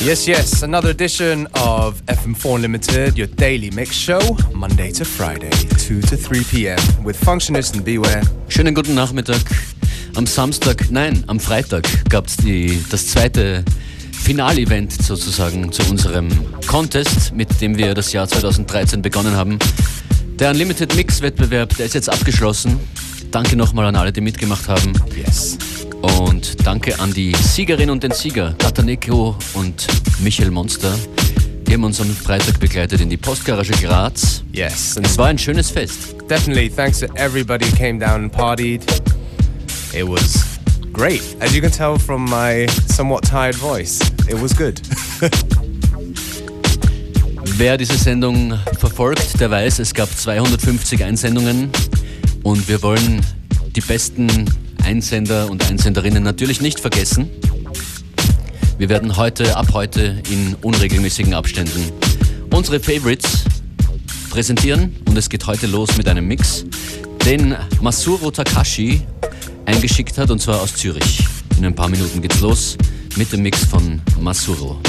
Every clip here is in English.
Yes, another edition of FM4 Unlimited, your daily mix show, Monday to Friday, 2 to 3 p.m. with Functionist and Beware. Schönen guten Nachmittag. Am Freitag gab es das zweite Finalevent sozusagen zu unserem Contest, mit dem wir das Jahr 2013 begonnen haben. Der Unlimited Mix-Wettbewerb, der ist jetzt abgeschlossen. Danke nochmal an alle, die mitgemacht haben. Yes. Und danke an die Siegerin und den Sieger, Kataneko und Michael Monster. Die haben uns am Freitag begleitet in die Postgarage Graz. Yes. Und es war ein schönes Fest. Definitely. Thanks to everybody who came down and partied. It was great. As you can tell from my somewhat tired voice, it was good. Wer diese Sendung verfolgt, der weiß, es gab 250 Einsendungen und wir wollen die besten Einsender und Einsenderinnen natürlich nicht vergessen. Wir werden ab heute in unregelmäßigen Abständen unsere Favorites präsentieren und es geht heute los mit einem Mix, den Masuro Takashi eingeschickt hat, und zwar aus Zürich. In ein paar Minuten geht's los mit dem Mix von Masuro.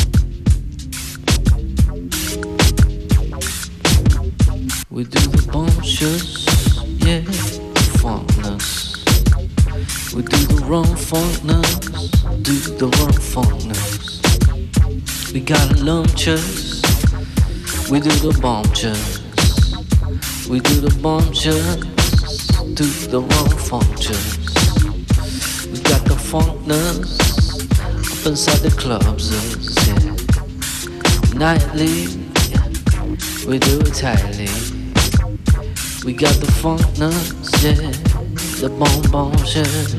We do the bumptious, yeah, funkness. We do the wrong funkness, do the wrong funkness. We got lumptious, we do the bumptious. We do the bumptious, do the wrong funktious. We got the funkness up inside the clubs, yeah. Nightly, we do it tightly. We got the funkness, yeah, the bonbons,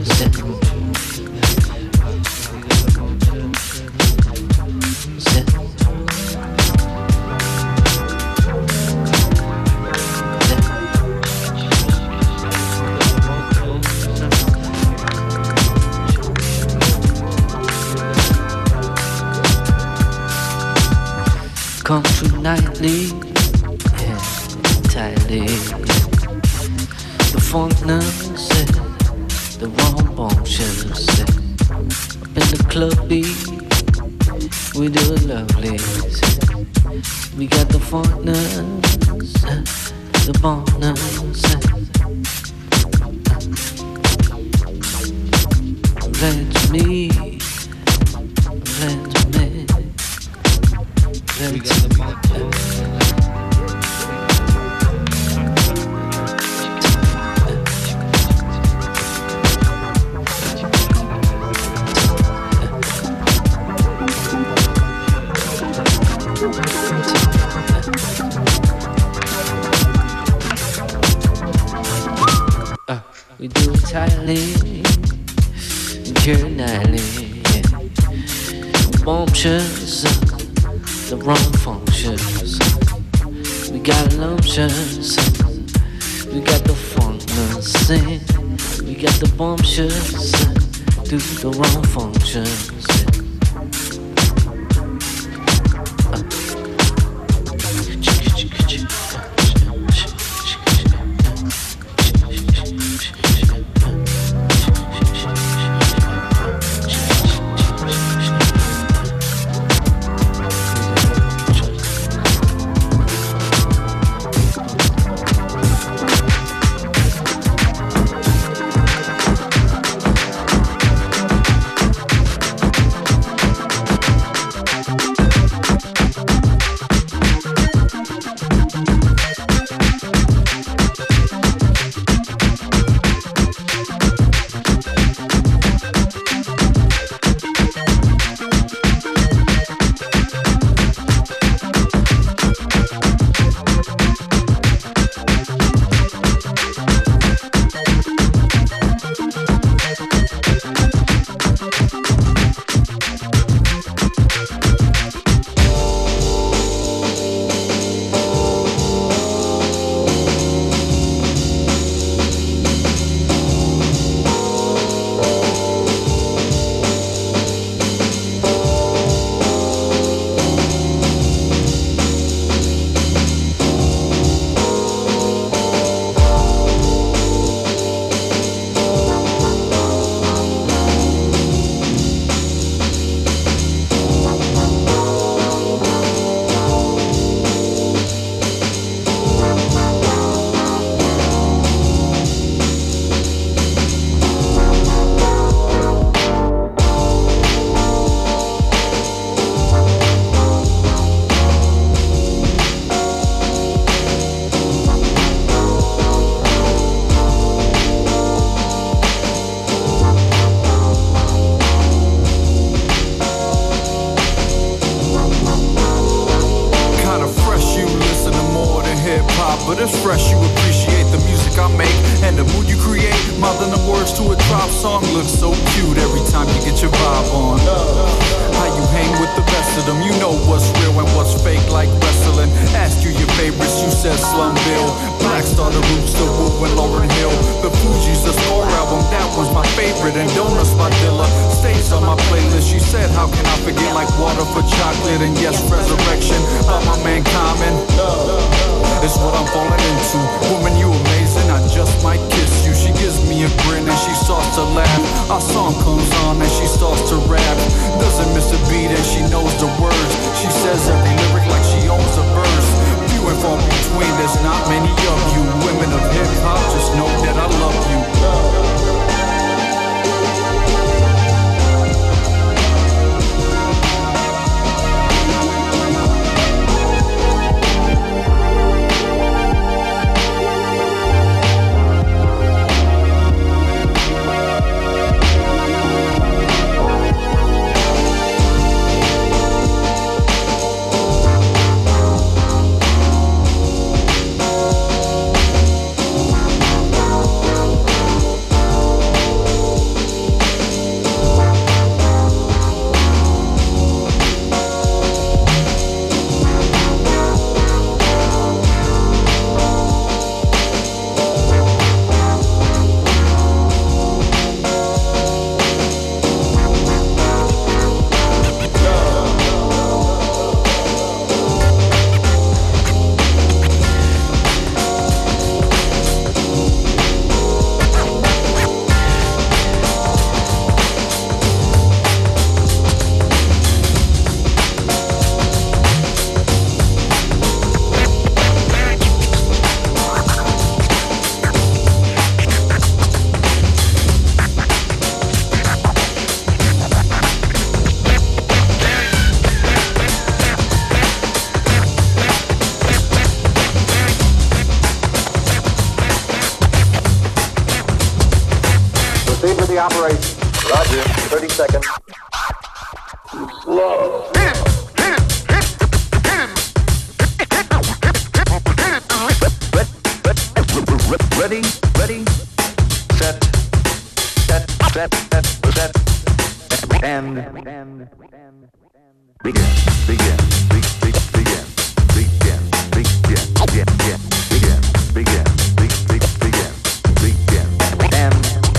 come through nightly, yeah, tightly. The funkness, yeah, the wrong bumptious, yeah. Up in the clubby, we do it lovely. We got the funkness, yeah, the bumpness, yeah. Glad to meet, glad to meet. We got the we do it tightly, care nightly, yeah. Bumptious, the wrong functions. We got lumptious, we got the funkness, we got the bumptious, do the wrong functions. but it's fresh. You appreciate the music I make and the mood you create. Mothering the words to a drop song looks so cute every time you get your vibe on. How you hang with the best of them, you know what's real and what's fake like wrestling. Ask you your favorites, you said Slumville, Black Star, the Roots, the Woo, and Lauryn Hill. The Fugees, the Score album, that was my favorite. And Donuts by Dilla stays on my playlist. She said, how can I forget, like water for chocolate. And yes, Resurrection by my man Common. It's what I'm falling into. Woman, you amazing, I just might kiss you. She gives me a grin and she starts to laugh. Our song comes on and she starts to rap. Doesn't miss a beat and she knows the words. She says every lyric like she owns a verse. Few and far between, there's not many of you. Women of hip hop, just know that I love you. Operation. Roger. 30 seconds. Slow. Ready, ready, set, and begin, begin, begin, begin, and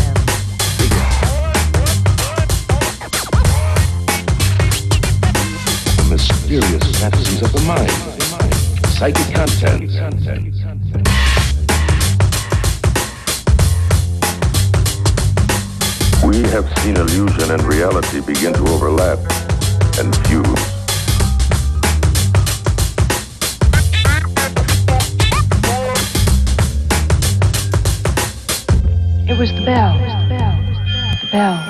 mysterious fantasies of the mind, psychic content. We have seen illusion and reality begin to overlap and fuse. It was the bell. The bell.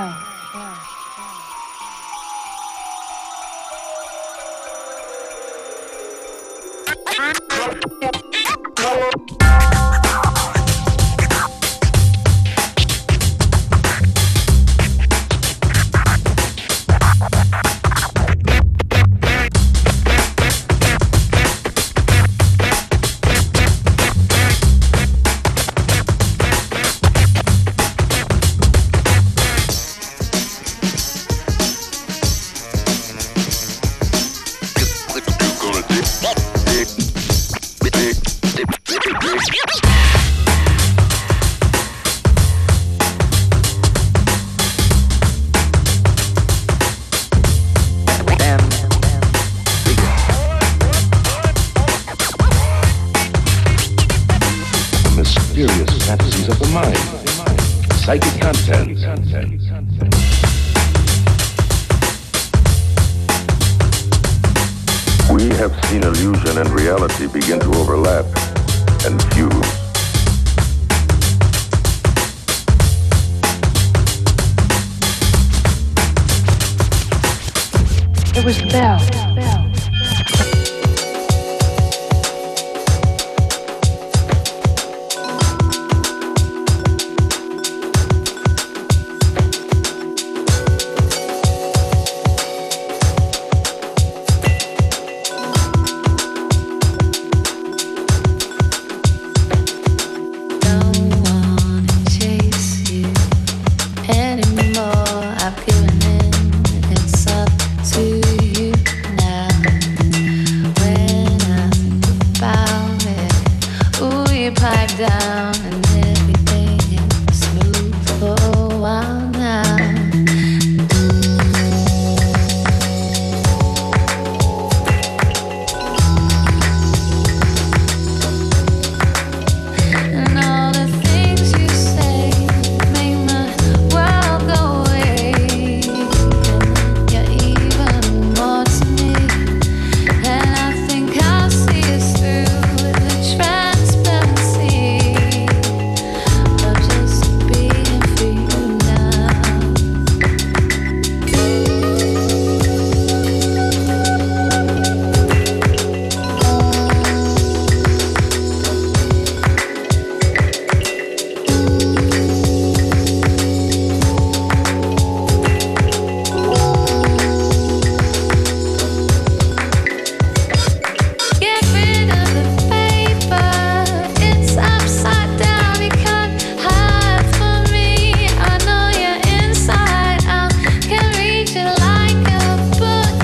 Mysterious fantasies of the mind, psychic content. We have seen illusion and reality begin to overlap and fuse. It was the bell. down and everything is smooth for a while now. And all the things you say make my world go away. And you're even more to me. And I think I'll see us through the transparency of just being for you now. Get rid of the paper, it's upside down. You can't hide from me. I know you're inside out. Can reach it like a book.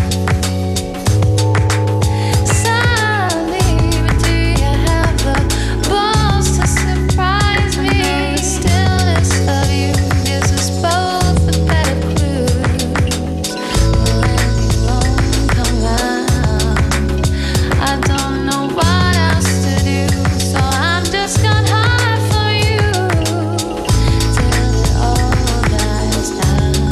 Suddenly, but do you have the balls to surprise me? The stillness of you gives us both a better clue. When you won't come round, I don't know what else to do, so I'm just gonna hide from you till it all dies down.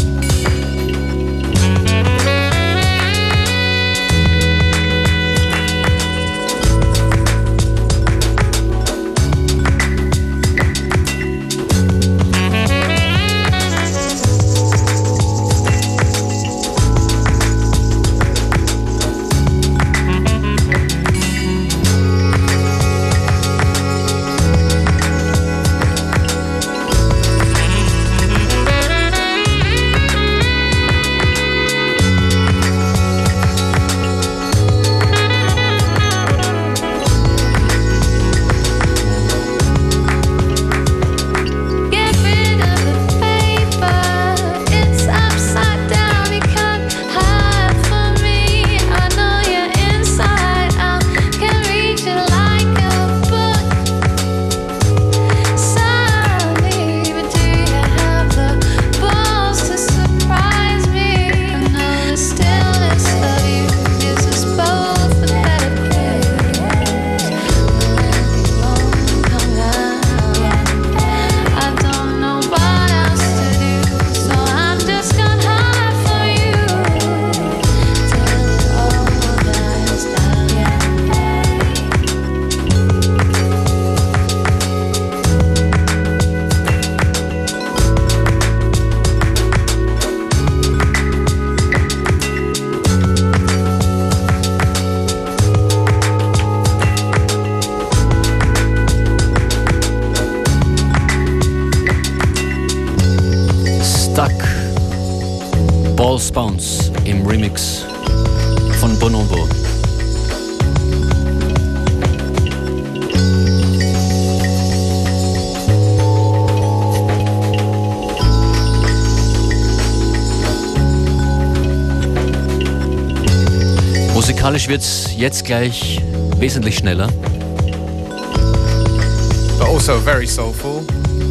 Get rid of the paper, it's upside down. You can't hide from me. I know you're inside out. Can reach it like a book. Suddenly, but do you have the balls to surprise me? I know the stillness of you gives us both a better place. When you won't come round, I don't know what else to do, so I'm just gonna hide from you till it all dies down. Stuck. Balls Bounce im Remix von Bonobo. Musikalisch wird's jetzt gleich wesentlich schneller. But also very soulful.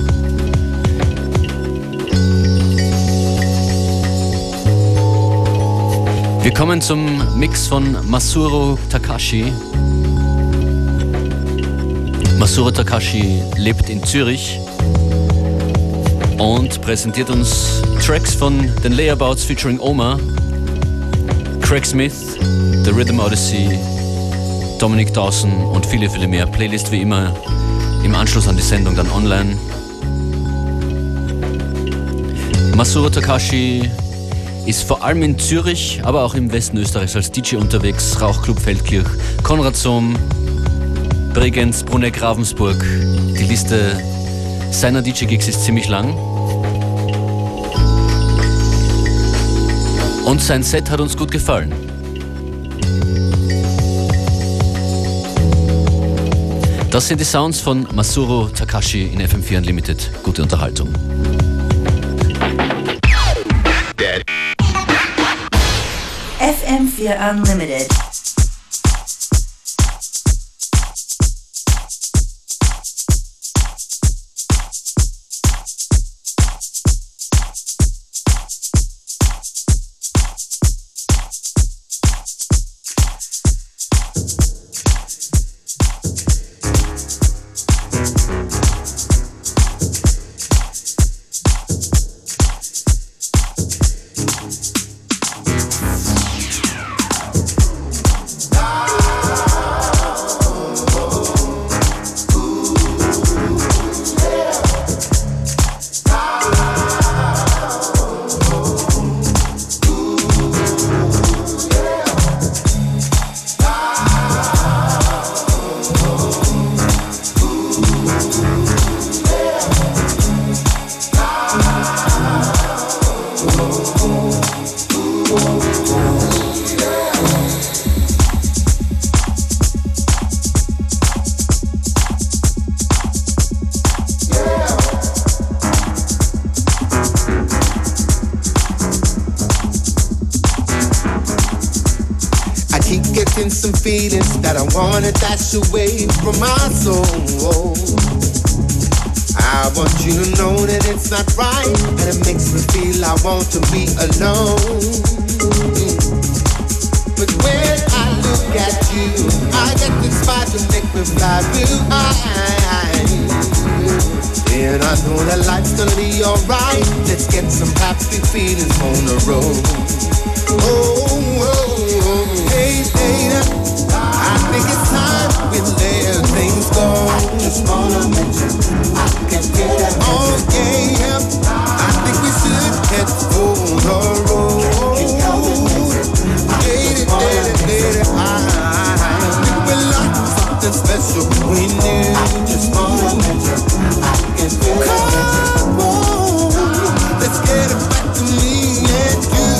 Wir kommen zum Mix von Masuro Takashi. Masuro Takashi lebt in Zürich und präsentiert uns Tracks von den Layabouts featuring Oma, Craig Smith, The Rhythm Odyssey, Dominic Dawson und viele, viele mehr. Playlist wie immer im Anschluss an die Sendung dann online. Masuro Takashi ist vor allem in Zürich, aber auch im Westen Österreichs als DJ unterwegs. Rauchclub Feldkirch, Konrad Sohm, Bregenz, Bruneck, Ravensburg. Die Liste seiner DJ-Gigs ist ziemlich lang. Und sein Set hat uns gut gefallen. Das sind die Sounds von Masuro Takashi in FM4 Unlimited. Gute Unterhaltung. FM4 Unlimited. been some feelings that I wanna dash away from my soul. I want you to know that it's not right, and it makes me feel I want to be alone. But when I look at you, I get inspired to make me fly real high. And I know that life's gonna be alright. Let's get some happy feelings on the road. Hey, later, I think it's time we let things go. Just wanna mention, I can get that. Oh yeah, I think we should head for the road. Later, I think we like something special we knew. Just wanna mention, I can get that. Come on, let's get it back to me and you.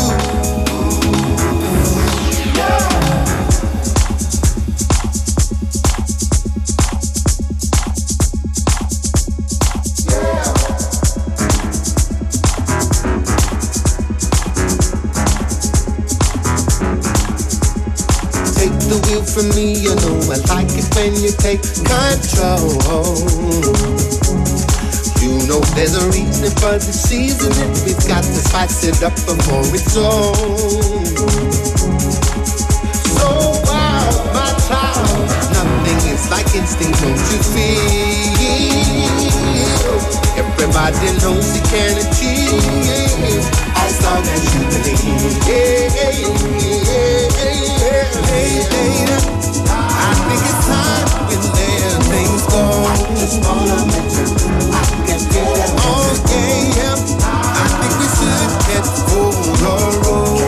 From me, you know I like it when you take control. You know there's a reason for the seasoning. We've got to spice it up before it's on. So wow, my child, nothing is like instinct, don't you feel? Everybody knows you can achieve as long as you believe. Later, I think it's time we let things go. Just wanna mention, I can get it. Oh yeah, I think we should get for the road.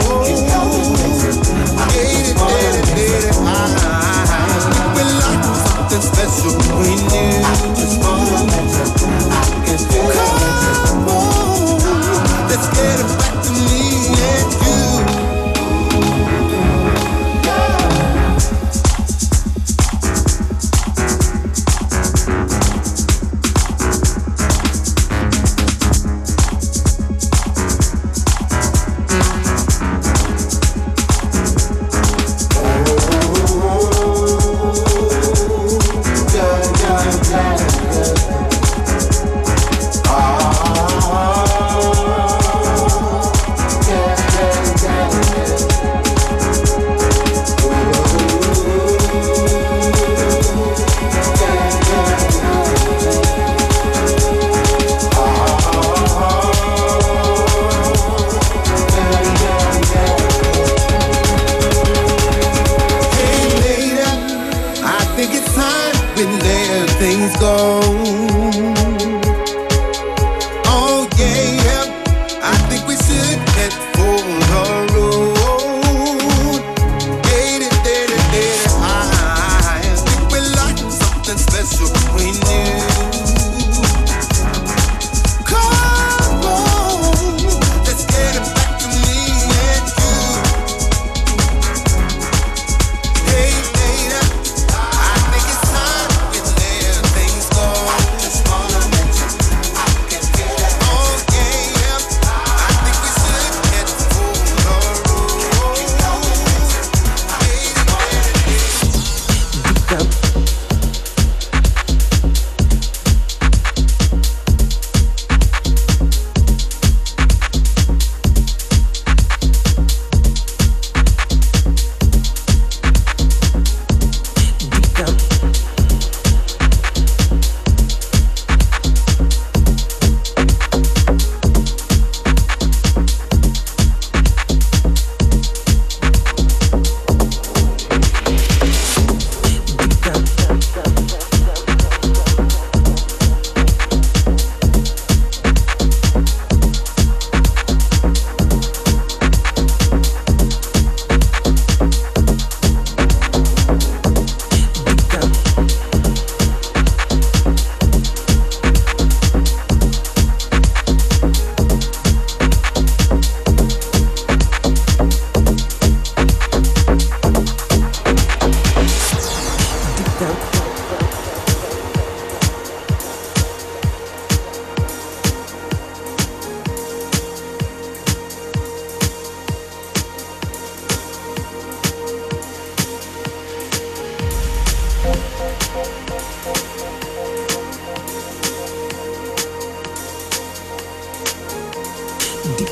Later, I think we like something special we knew. Just wanna mention, I can get it. Come on, let's get it back to me and you.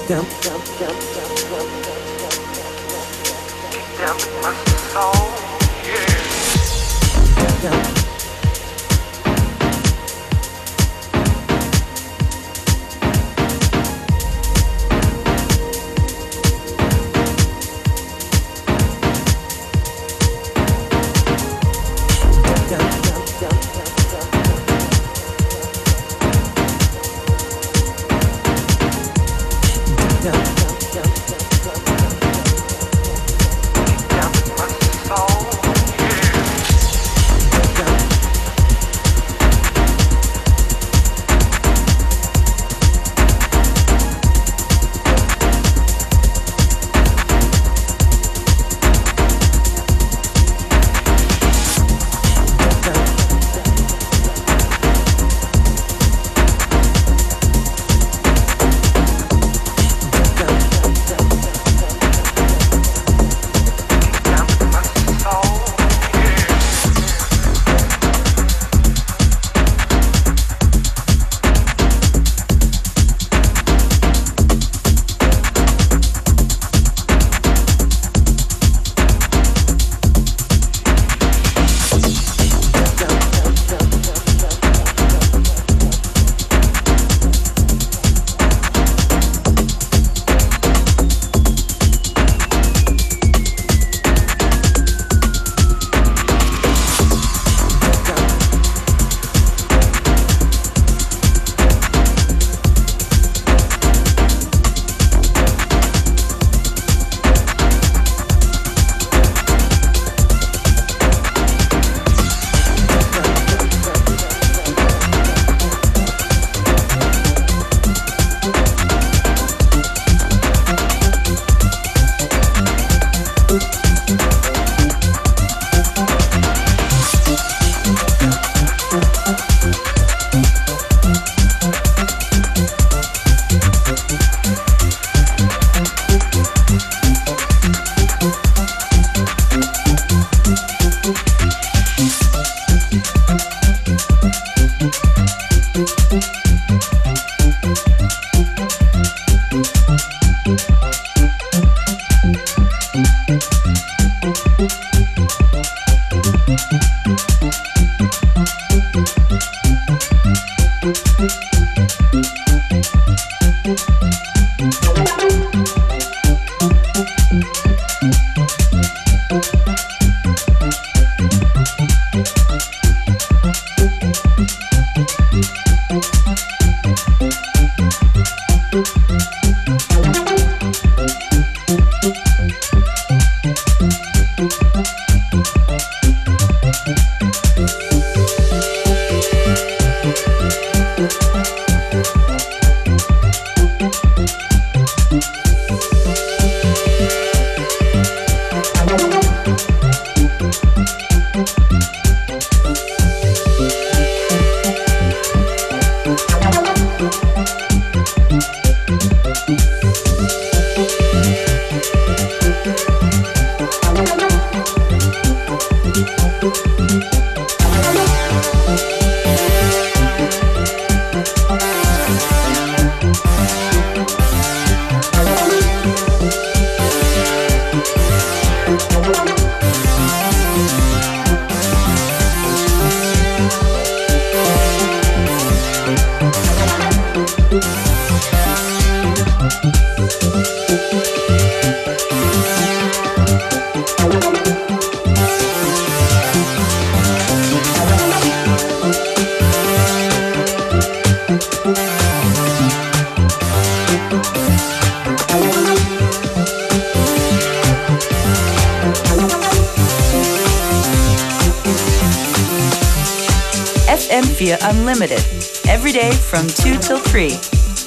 FM4 Unlimited, every day from 2 till 3.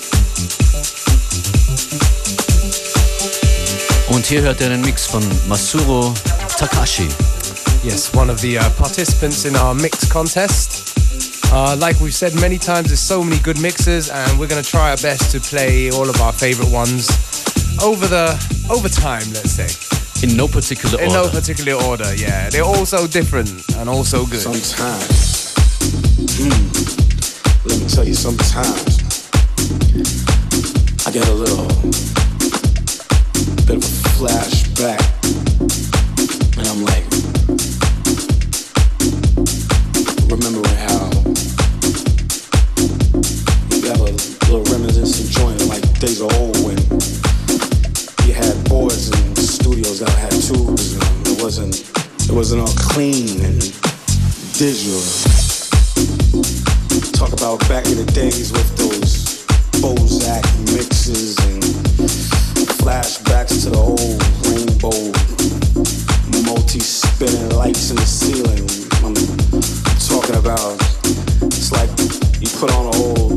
Und hier hört ihr einen Mix von Masuro Takashi. Yes, one of the participants in our mix contest. Like we've said many times, there's so many good mixes, and we're going to try our best to play all of our favorite ones over time, let's say. In no particular order. In no particular order, yeah. They're all so different and all so good. Sometimes, let me tell you, sometimes I get a little bit of a flashback, and I'm like, remembering how you have a little reminiscent joint, like days of old when you had boards and studios that had tubes, and it wasn't all clean and digital. Talk about back in the days with those Bozak mixes and flashbacks to the old rainbow multi-spinning lights in the ceiling. I'm talking about, it's like you put on an old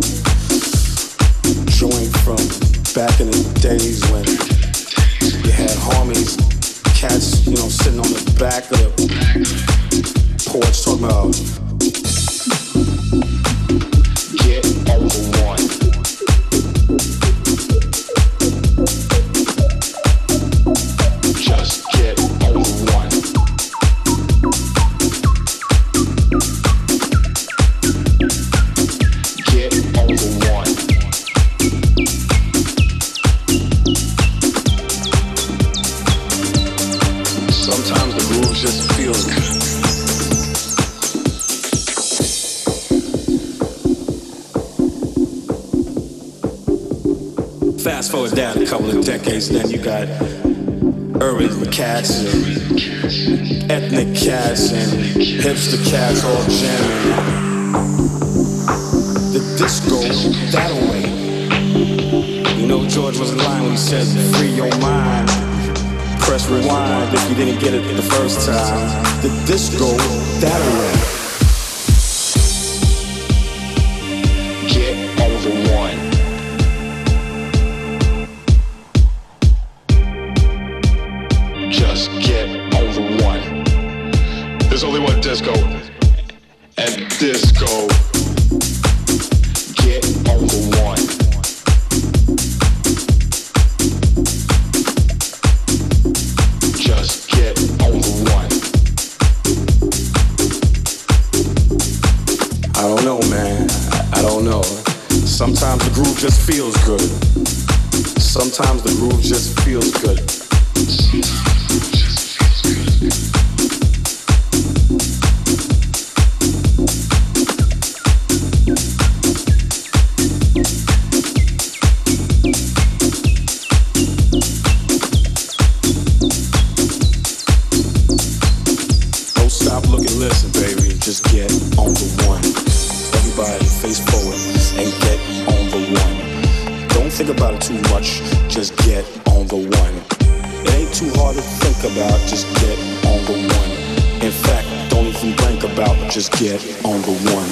joint from back in the days when you had homies, cats, sitting on the back of the porch talking about get over one. Just get over one. Get over one. Sometimes the groove just feels good. Fast forward down a couple of decades, then you got urban cats and ethnic cats and hipster cats all jamming. The disco that way. George wasn't lying when he said, free your mind. Press rewind if you didn't get it the first time. The disco that way. Get over one. Just get over one. There's only one disco, and disco. Get over one. Just get over one. I don't know, man. I don't know. Sometimes the groove just feels good. Sometimes the groove just feels good. Don't stop looking, listen, baby. Just get on the one. Everybody face forward and get on the one. Don't think about it too much. Just get on the one. It ain't too hard to think about. Just get on the one. In fact, don't even think about. Just get on the one.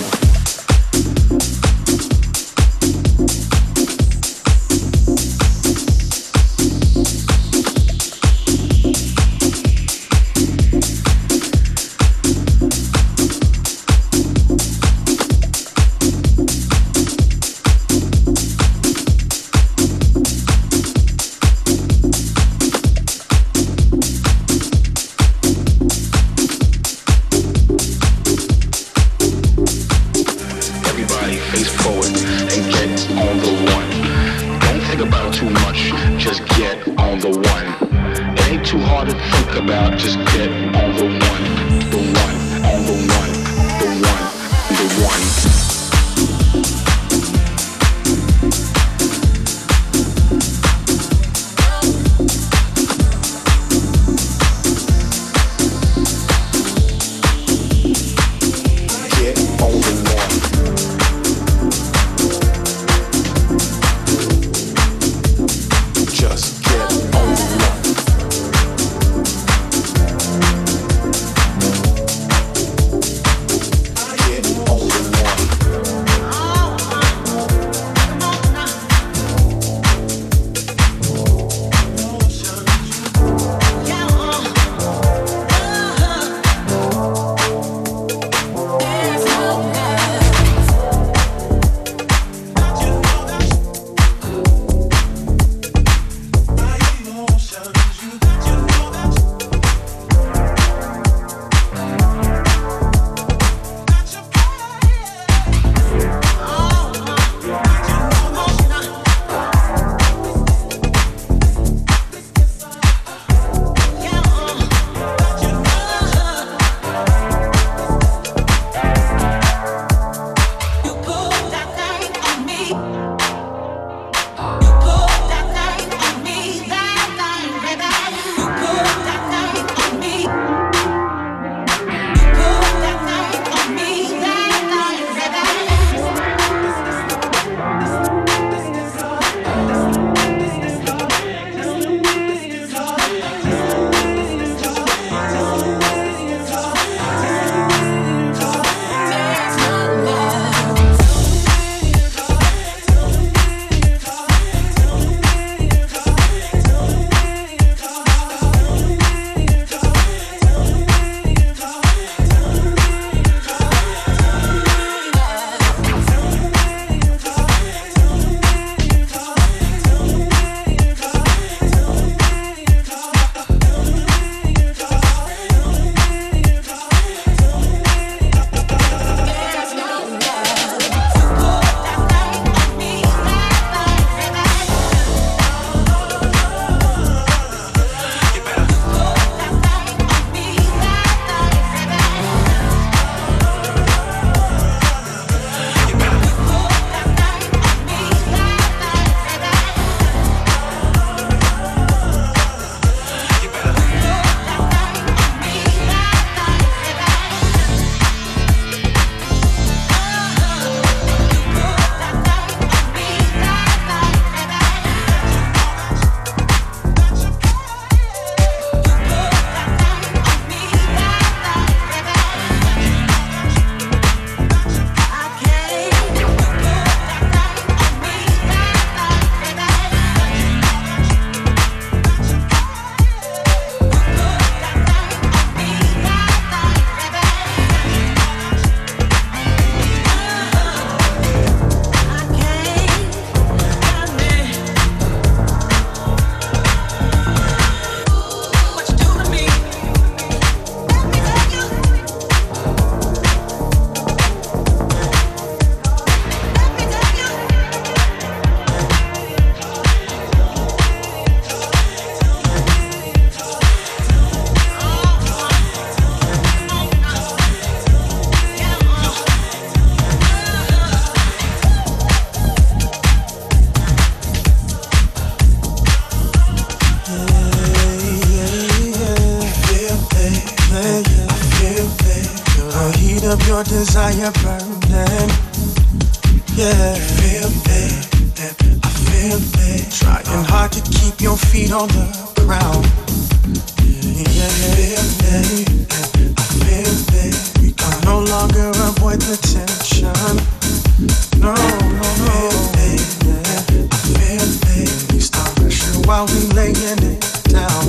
heat of your desire burning. Yeah, feel it, I feel it. Trying hard to keep your feet on the ground. Yeah, feel it, I feel it. We can no longer avoid the tension. No, no, no. I feel it. We start pressure while we laying it down.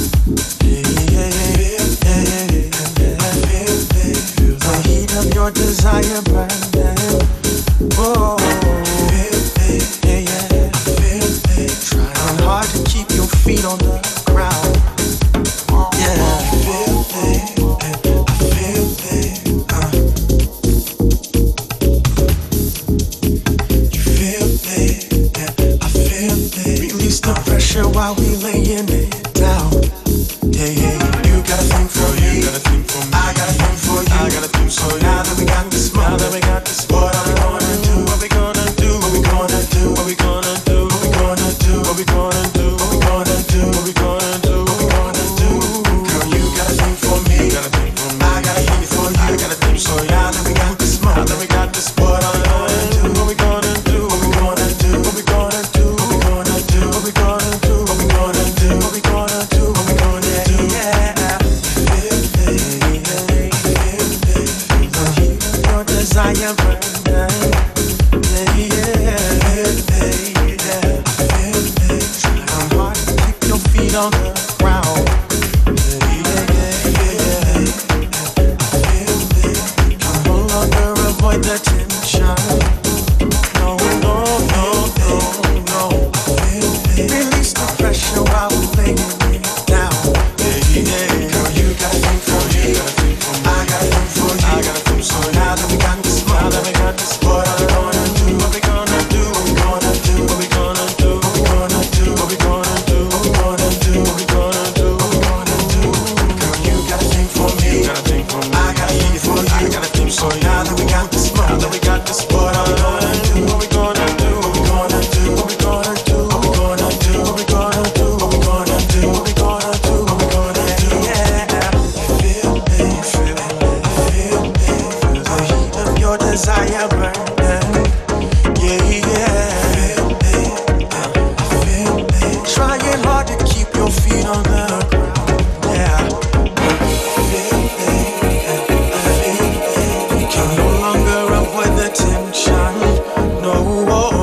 The heat of your desire burning. Oh, trying hard to keep your feet on the ground. Yeah, I feel it. You feel it. I feel it. Release the pressure while we laying it down. Yeah. You got a thing for me. I got a thing for you. I got a thing for you. Now that we got this moment, what are we gonna do? What we gonna do? What we gonna do? What we gonna do? What we gonna do? What we gonna do? What we gonna do? What we gonna do? What we gonna do? Girl, you got a thing for me. I got a thing for you. I got a thing for you. Now that we got this moment, what are we gonna do? What we gonna do? What we gonna do? What we gonna do? What we gonna do? What we gonna do? What we gonna do? What we gonna do? What we gonna do? Yeah. Desire burning, trying hard to keep your feet on the ground. Can no longer avoid the tension. No. Release the pressure while we're laying it down. Girl, you got a thing for me. I got a thing for you. I got a thing for you. Now that we got this, what are we gonna do? What we gonna do? What we gonna do? What we gonna do? What we gonna do? What we gonna do? What we gonna do? What we gonna do? Girl, you got a thing for me. I got a thing for you. I got a thing for you. Now that we got this, what are we gonna do? What we gonna do? What we gonna do? What we gonna do? What we gonna do? What we gonna do? What we gonna do? What we gonna do? What we gonna do? Yeah. Feel the heat of your desire burning. Yeah. Trying hard to keep your feet on the ground. Yeah. We can no longer avoid the tension. No.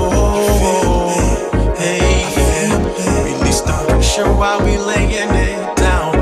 Release the pressure while we laying it down.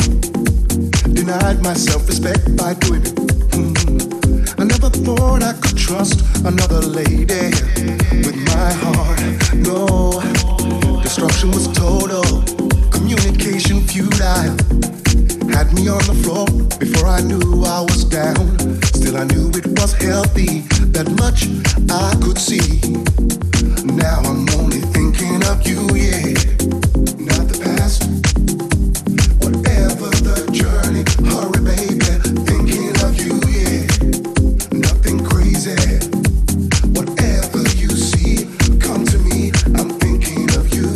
denied my self-respect by doing it. I never thought I could trust another lady with my heart. No, destruction was total, communication futile. Had me on the floor before I knew I was down. Still I knew it was healthy, that much I could see. Now I'm only thinking of you, yeah. Not the past. Whatever the journey, hurry baby, thinking of you, yeah. Nothing crazy. Whatever you see, come to me, I'm thinking of you.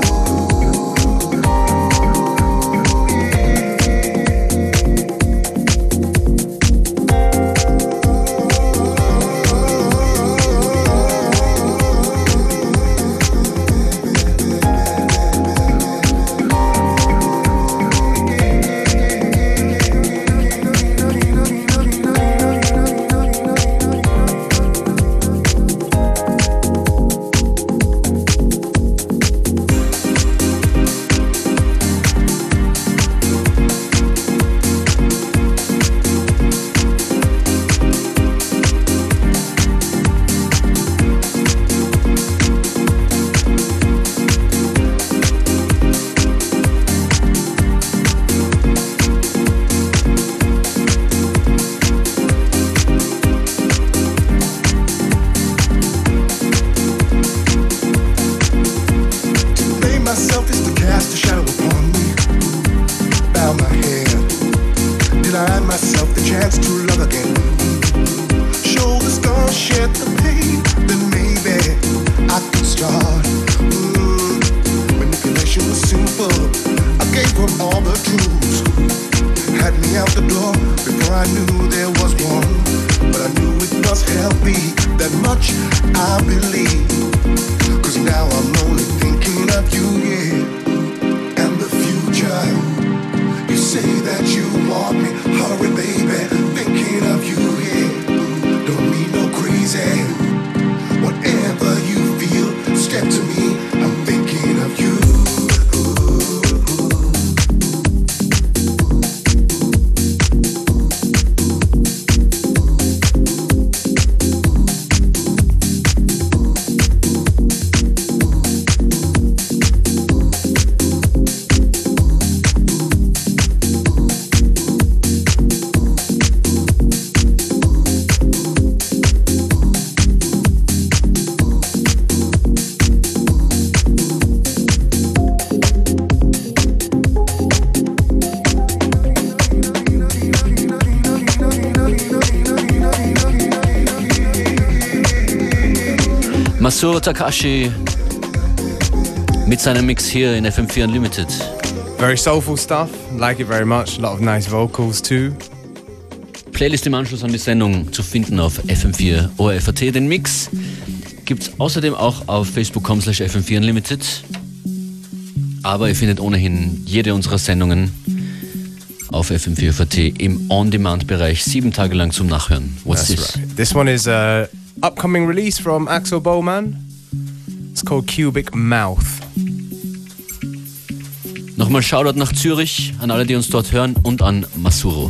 Masuro Takashi mit seinem Mix hier in FM4 Unlimited. Very soulful stuff, like it very much. A lot of nice vocals too. Playlist im Anschluss an die Sendung zu finden auf FM4 ORFAT. Den Mix gibt's außerdem auch auf Facebook.com/FM4 Unlimited. Aber ihr findet ohnehin jede unserer Sendungen auf FM4 ORFAT im On-Demand-Bereich 7 Tage lang zum Nachhören. What's this? Right. This one is a upcoming release from Axel Bowman. It's called Cubic Mouth. Nochmal Shoutout nach Zürich an alle, die uns dort hören, und an Masuro.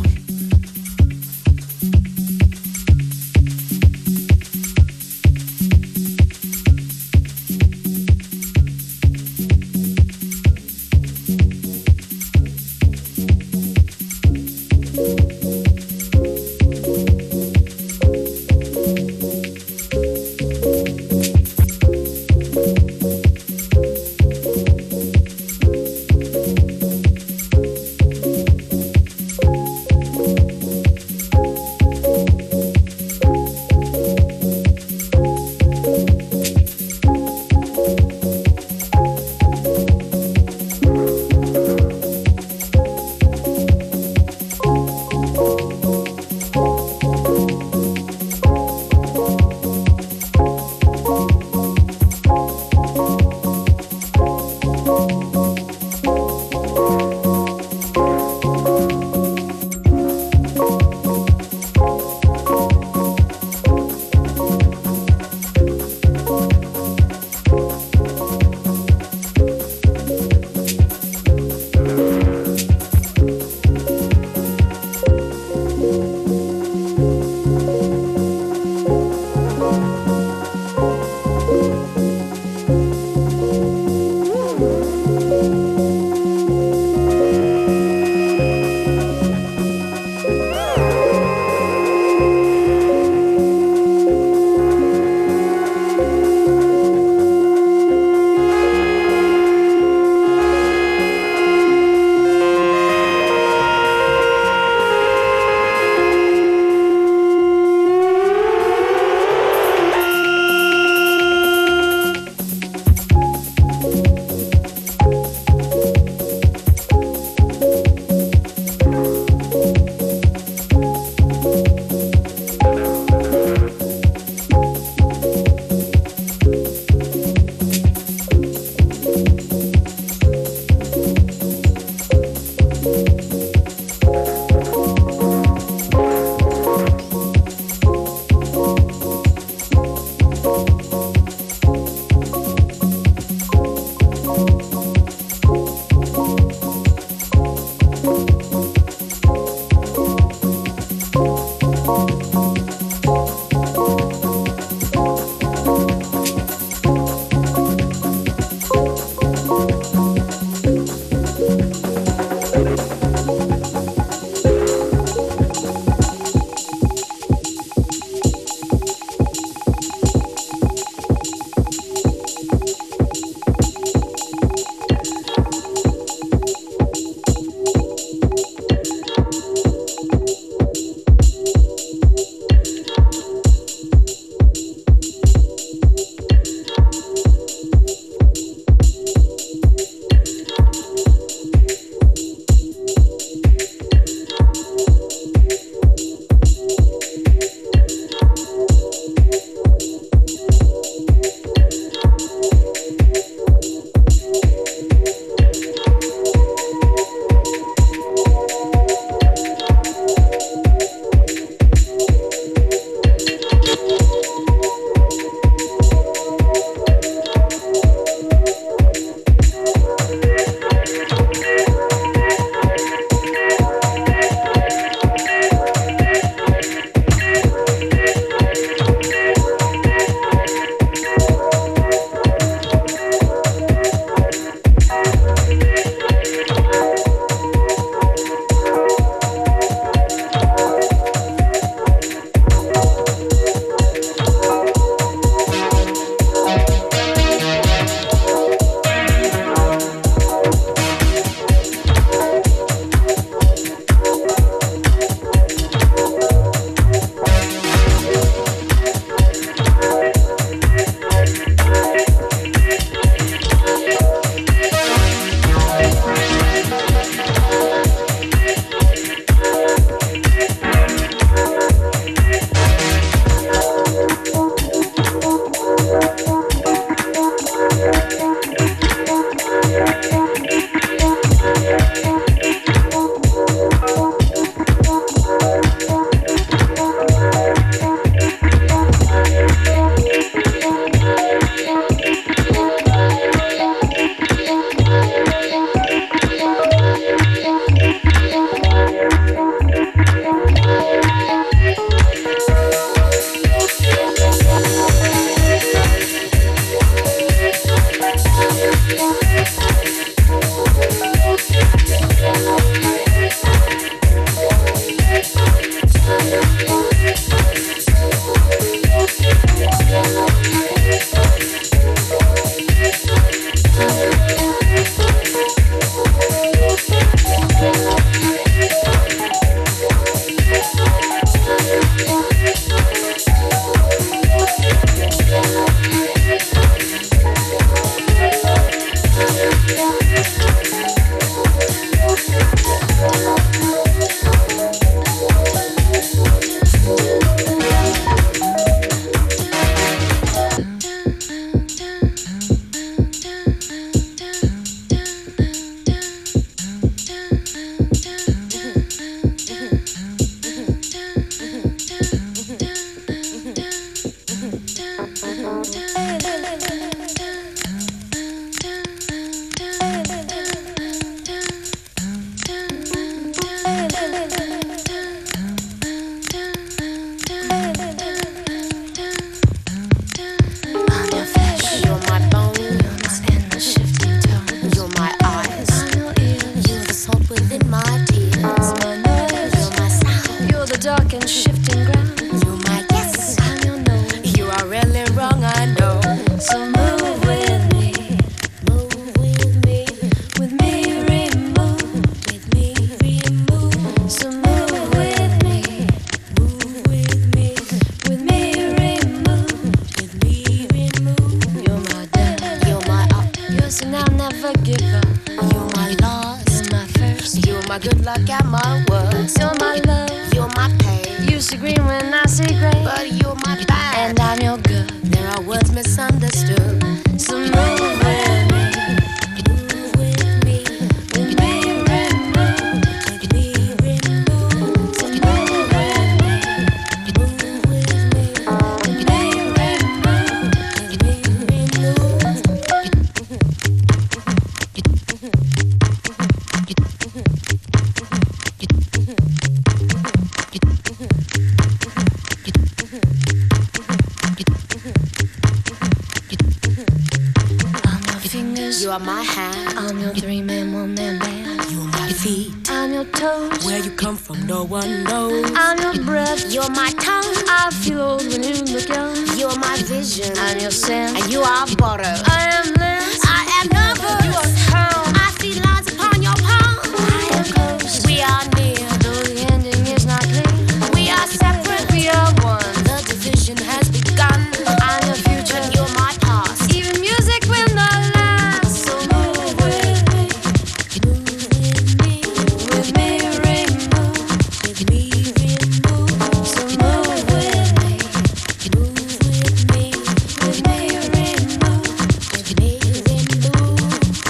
are my hand. I'm your three-man, one-man band. You're my feet. I'm your toes. Where you come from, no one knows. I'm your breath. You're my tongue. I feel old when you look young. You're my vision. I'm your scent. And you are butter. I am Liz. I am nervous. You are calm. I see lines upon your palm. I am close. We are near. Though the ending is not clear. We are separate. We are one. The division has begun. I'm your future. You're my past. Even music will not last. So move with me. Move with me. With me, remove. With me, remove. So move with me. Move with me. With me, remove. With me, remove.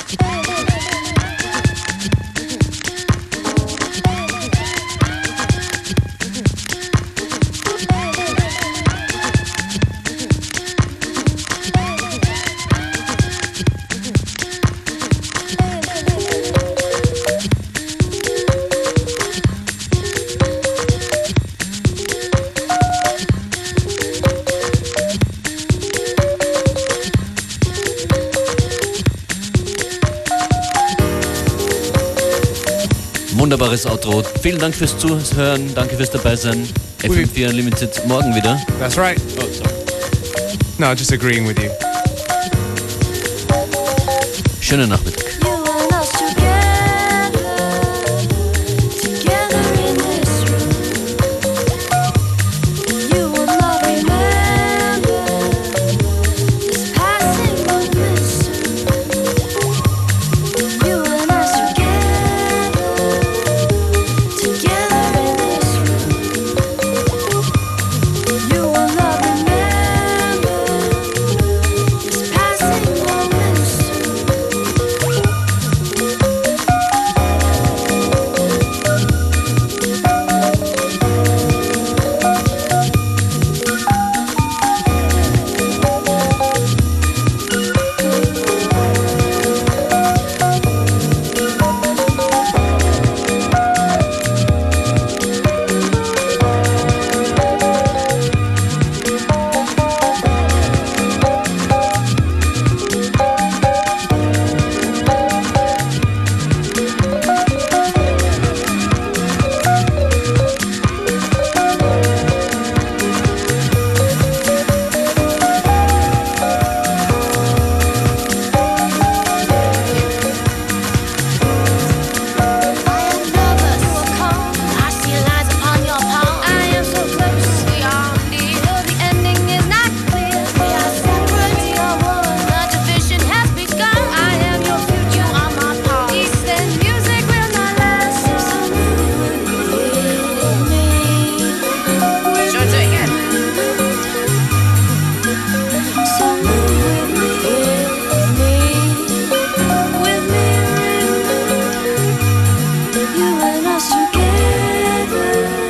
Wunderbares Outro. Vielen Dank fürs Zuhören, danke fürs Dabeisein. FM4 Unlimited morgen wieder. That's right. Oh, sorry. No, just agreeing with you. Schönen Nachmittag. You and us together, together in this room. You will not remember this passing moment soon. You and us together, together in this room. You will not remember this passing moment soon.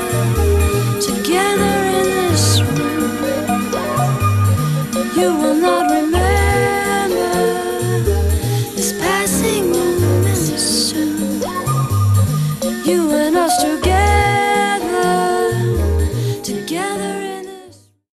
You will not